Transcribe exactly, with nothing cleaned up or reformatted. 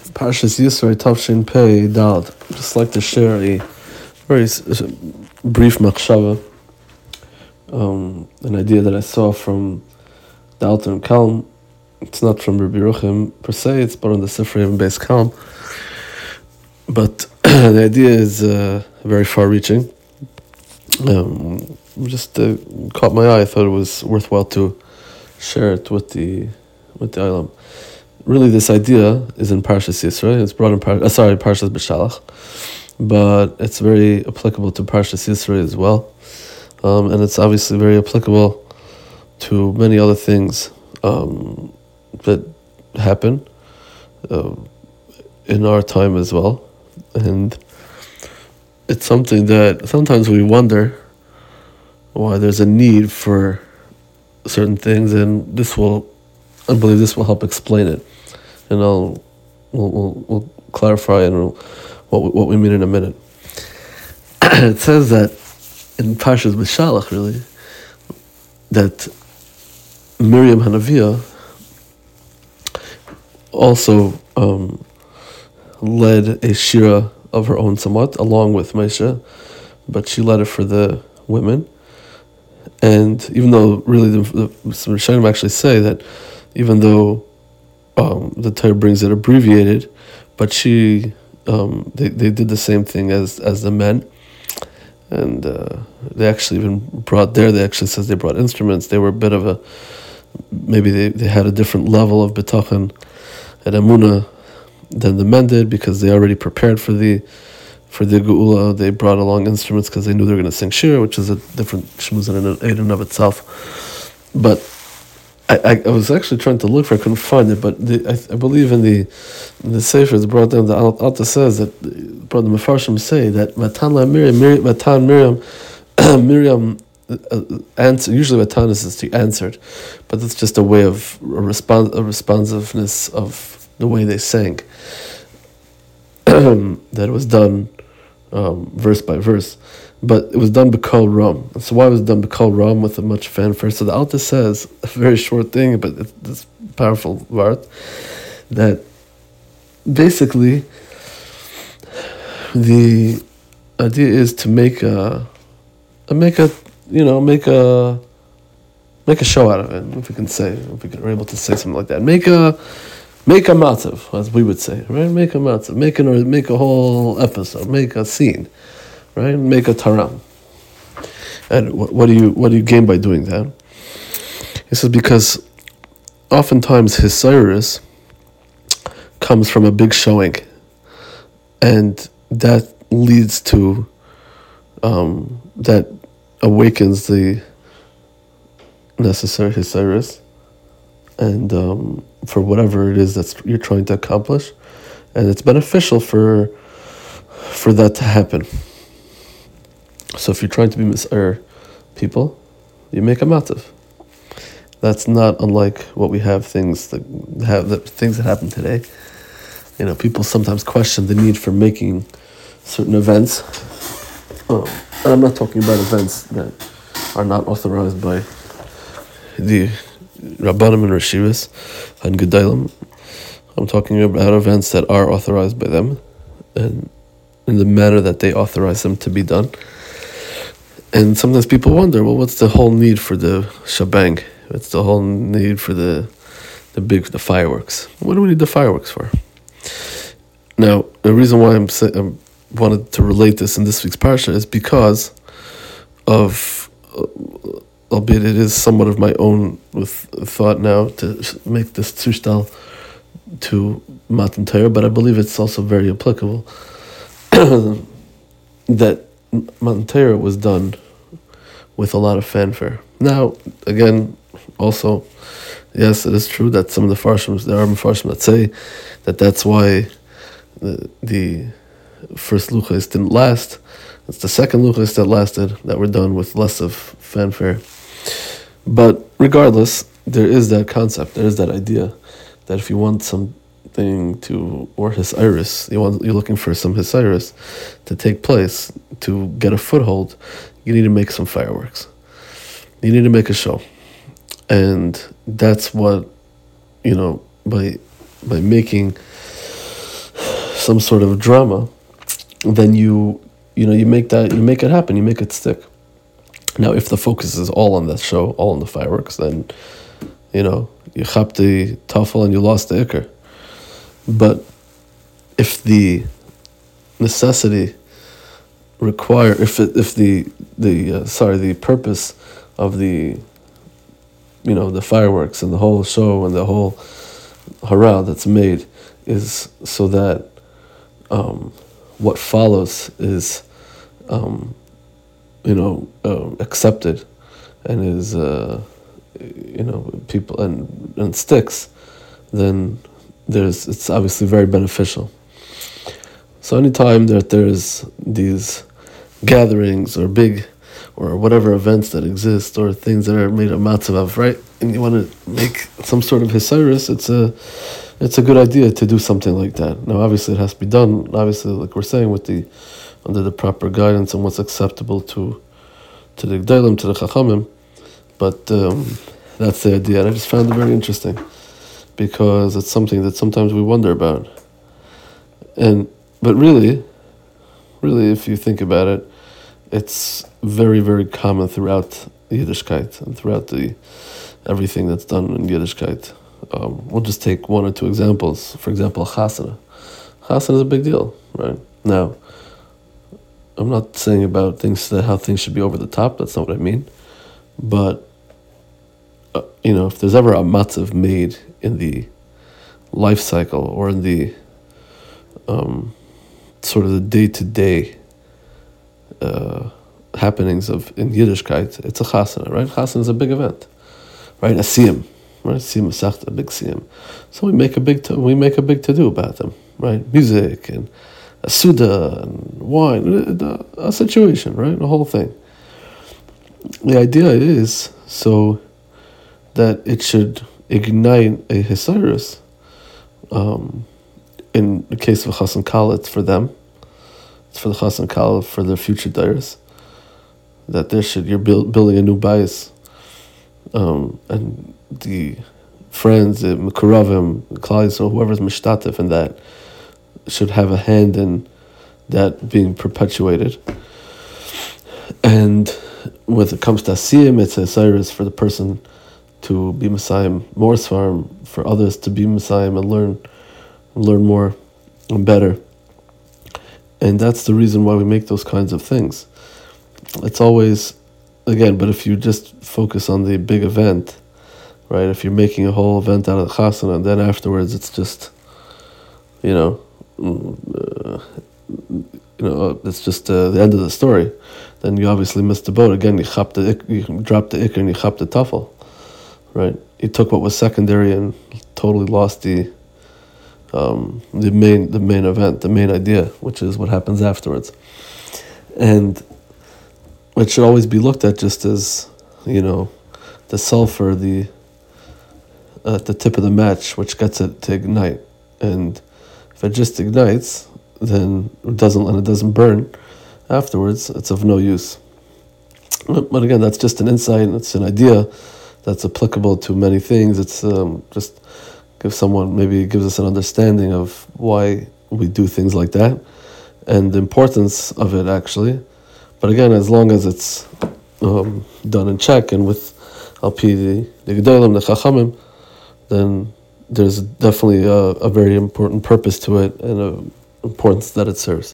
Parshas Yisro Tavshin Pei Dal. Just like to share a very s- s- brief machshava, um, an idea that I saw from the Alter and Kalm. It's not from Rabbi Yeruchim per se, it's but on the Sifrei and Beis Kalm. But the idea is uh, very far-reaching. Um, just uh, caught my eye. I thought it was worthwhile to share it with the with the Olam. Really, this idea is in Parshas Yisro. It's brought in Par- uh, sorry, Parshas B'Shalach, but it's very applicable to Parshas Yisro as well, um, and it's obviously very applicable to many other things um, that happen uh, in our time as well, and it's something that sometimes we wonder why there's a need for certain things, and this will, I believe, this will help explain it. And I'll we'll, we'll, we'll clarify and we'll, what we, what we mean in a minute. It says that in Parshas B'Shalach, really, that Miriam Hanaviah also um, led a shira of her own somewhat, along with Moshe, but she led it for the women. And even though really the, the some Rishonim actually say that even though Um, the Torah brings it abbreviated, but she, um, they, they did the same thing as, as the men, and uh, they actually even brought there, they actually says they brought instruments. They were a bit of a, maybe they, they had a different level of bitachon and emunah than the men did, because they already prepared for the for the geula. They brought along instruments because they knew they were going to sing shir, which is a different shmuz in and of itself. But I, I was actually trying to look for it, I couldn't find it, but the, I, I believe in the in the Sefer it's brought down, the Alta says that, brought the Mefarshim say that Matan la Miriam, Miriam Matan Miriam, Miriam uh, answer, usually Matan is just answered, but it's just a way of a, respons- a responsiveness of the way they sang, that it was done um, verse by verse. But it was done b'kol ram. So why was it done b'kol ram with a much fanfare? So the Alta says, a very short thing, but it's this powerful word, that basically the idea is to make a, a make a, you know, make a, make a show out of it, if we can say, if we are able to say something like that. Make a, make a matzav, as we would say, right? Make a matzav, make an, or make a whole episode, make a scene. Right, make a taram, and what, what do you what do you gain by doing that? He says because oftentimes his Cyrus comes from a big showing, and that leads to um, that awakens the necessary his Cyrus, and um, for whatever it is that you're trying to accomplish, and it's beneficial for for that to happen. So if you're trying to be mis'er people, you make a matav. That's not unlike what we have things that have that things that happen today. You know, people sometimes question the need for making certain events. Um, and I'm not talking about events that are not authorized by the Rabbanim and Rashivas and Gedalim. I'm talking about events that are authorized by them and in the manner that they authorize them to be done. And sometimes people wonder, well, what's the whole need for the shebang? What's the whole need for the the big the fireworks? What do we need the fireworks for? Now, the reason why I'm say, I wanted to relate this in this week's parsha is because of, uh, albeit it is somewhat of my own with thought now to make this tzushtal to Matan Torah, but I believe it's also very applicable that Matan Torah was done with a lot of fanfare. Now, again, also, yes, it is true that some of the Farshim, there are Farshim that say that that's why the, the first Luchas didn't last. It's the second Luchas that lasted that were done with less of fanfare. But regardless, there is that concept, there is that idea that if you want something to, or his iris, you want, you're looking for some his iris to take place, to get a foothold, you need to make some fireworks. You need to make a show. And that's what, you know, by by making some sort of drama, then you you know you make that you make it happen, you make it stick. Now, if the focus is all on the show, all on the fireworks, then you know you chap the tafel and you lost the ikr. But if the necessity require, if it, if the the uh, sorry the purpose of the you know the fireworks and the whole show and the whole hurrah that's made is so that um, what follows is um, you know uh, accepted and is uh, you know people and and sticks, then there's it's obviously very beneficial. So anytime that there's these gatherings or big or whatever events that exist or things that are made of matzav, right, and you want to make some sort of hisayrus, it's a it's a good idea to do something like that. Now, obviously, it has to be done, obviously, like we're saying, with the under the proper guidance and what's acceptable to to the G'daylim, to the Chachamim, but um, that's the idea. And I just found it very interesting because it's something that sometimes we wonder about. And but really, really, if you think about it, it's very, very common throughout Yiddishkeit and throughout the everything that's done in Yiddishkeit. Um, we'll just take one or two examples. For example, chasana. Chasana is a big deal, right? Now, I'm not saying about things that how things should be over the top. That's not what I mean. But uh, you know, if there's ever a matzav made in the life cycle or in the um, sort of the day-to-day uh, happenings of in Yiddishkeit, it's a chasana, right? Chasana is a big event, right? A siyum, right? Siyum masechta, a big siyum. So we make a big to, we make a big to do about them, right? Music and a suda and wine, a situation, right? The whole thing. The idea is so that it should ignite a hisayrus. Um, in the case of Chassan Kal, it's for them. It's for the Chassan Kal, for their future dayers. That there should you're build, building a new bias, um, and the friends, the Mekuravim, Klal Yisrael, whoever's mishtatif in that, should have a hand in that being perpetuated. And when it comes to Asiyim, it's a Cyrus for the person to be Messiah, more Svarim, for others to be Messiah and learn, learn more and better. And that's the reason why we make those kinds of things. It's always, again, but if you just focus on the big event, right, if you're making a whole event out of the chasana, and then afterwards it's just, you know, uh, you know, it's just uh, the end of the story, then you obviously missed the boat. Again, you chap the, you dropped the ikr and you chap the tafel, right? You took what was secondary and totally lost the um, the main the main event, the main idea, which is what happens afterwards. And it should always be looked at just as, you know, the sulfur, the at the tip of the match, which gets it to ignite. And if it just ignites, then it doesn't and it doesn't burn afterwards, it's of no use. But again, that's just an insight, it's an idea that's applicable to many things. It's um, just gives someone, maybe it gives us an understanding of why we do things like that and the importance of it actually. But again, as long as it's um, done in check and with Al-Pi the G'daylim, the Chachamim, then there's definitely a, a very important purpose to it and an importance that it serves.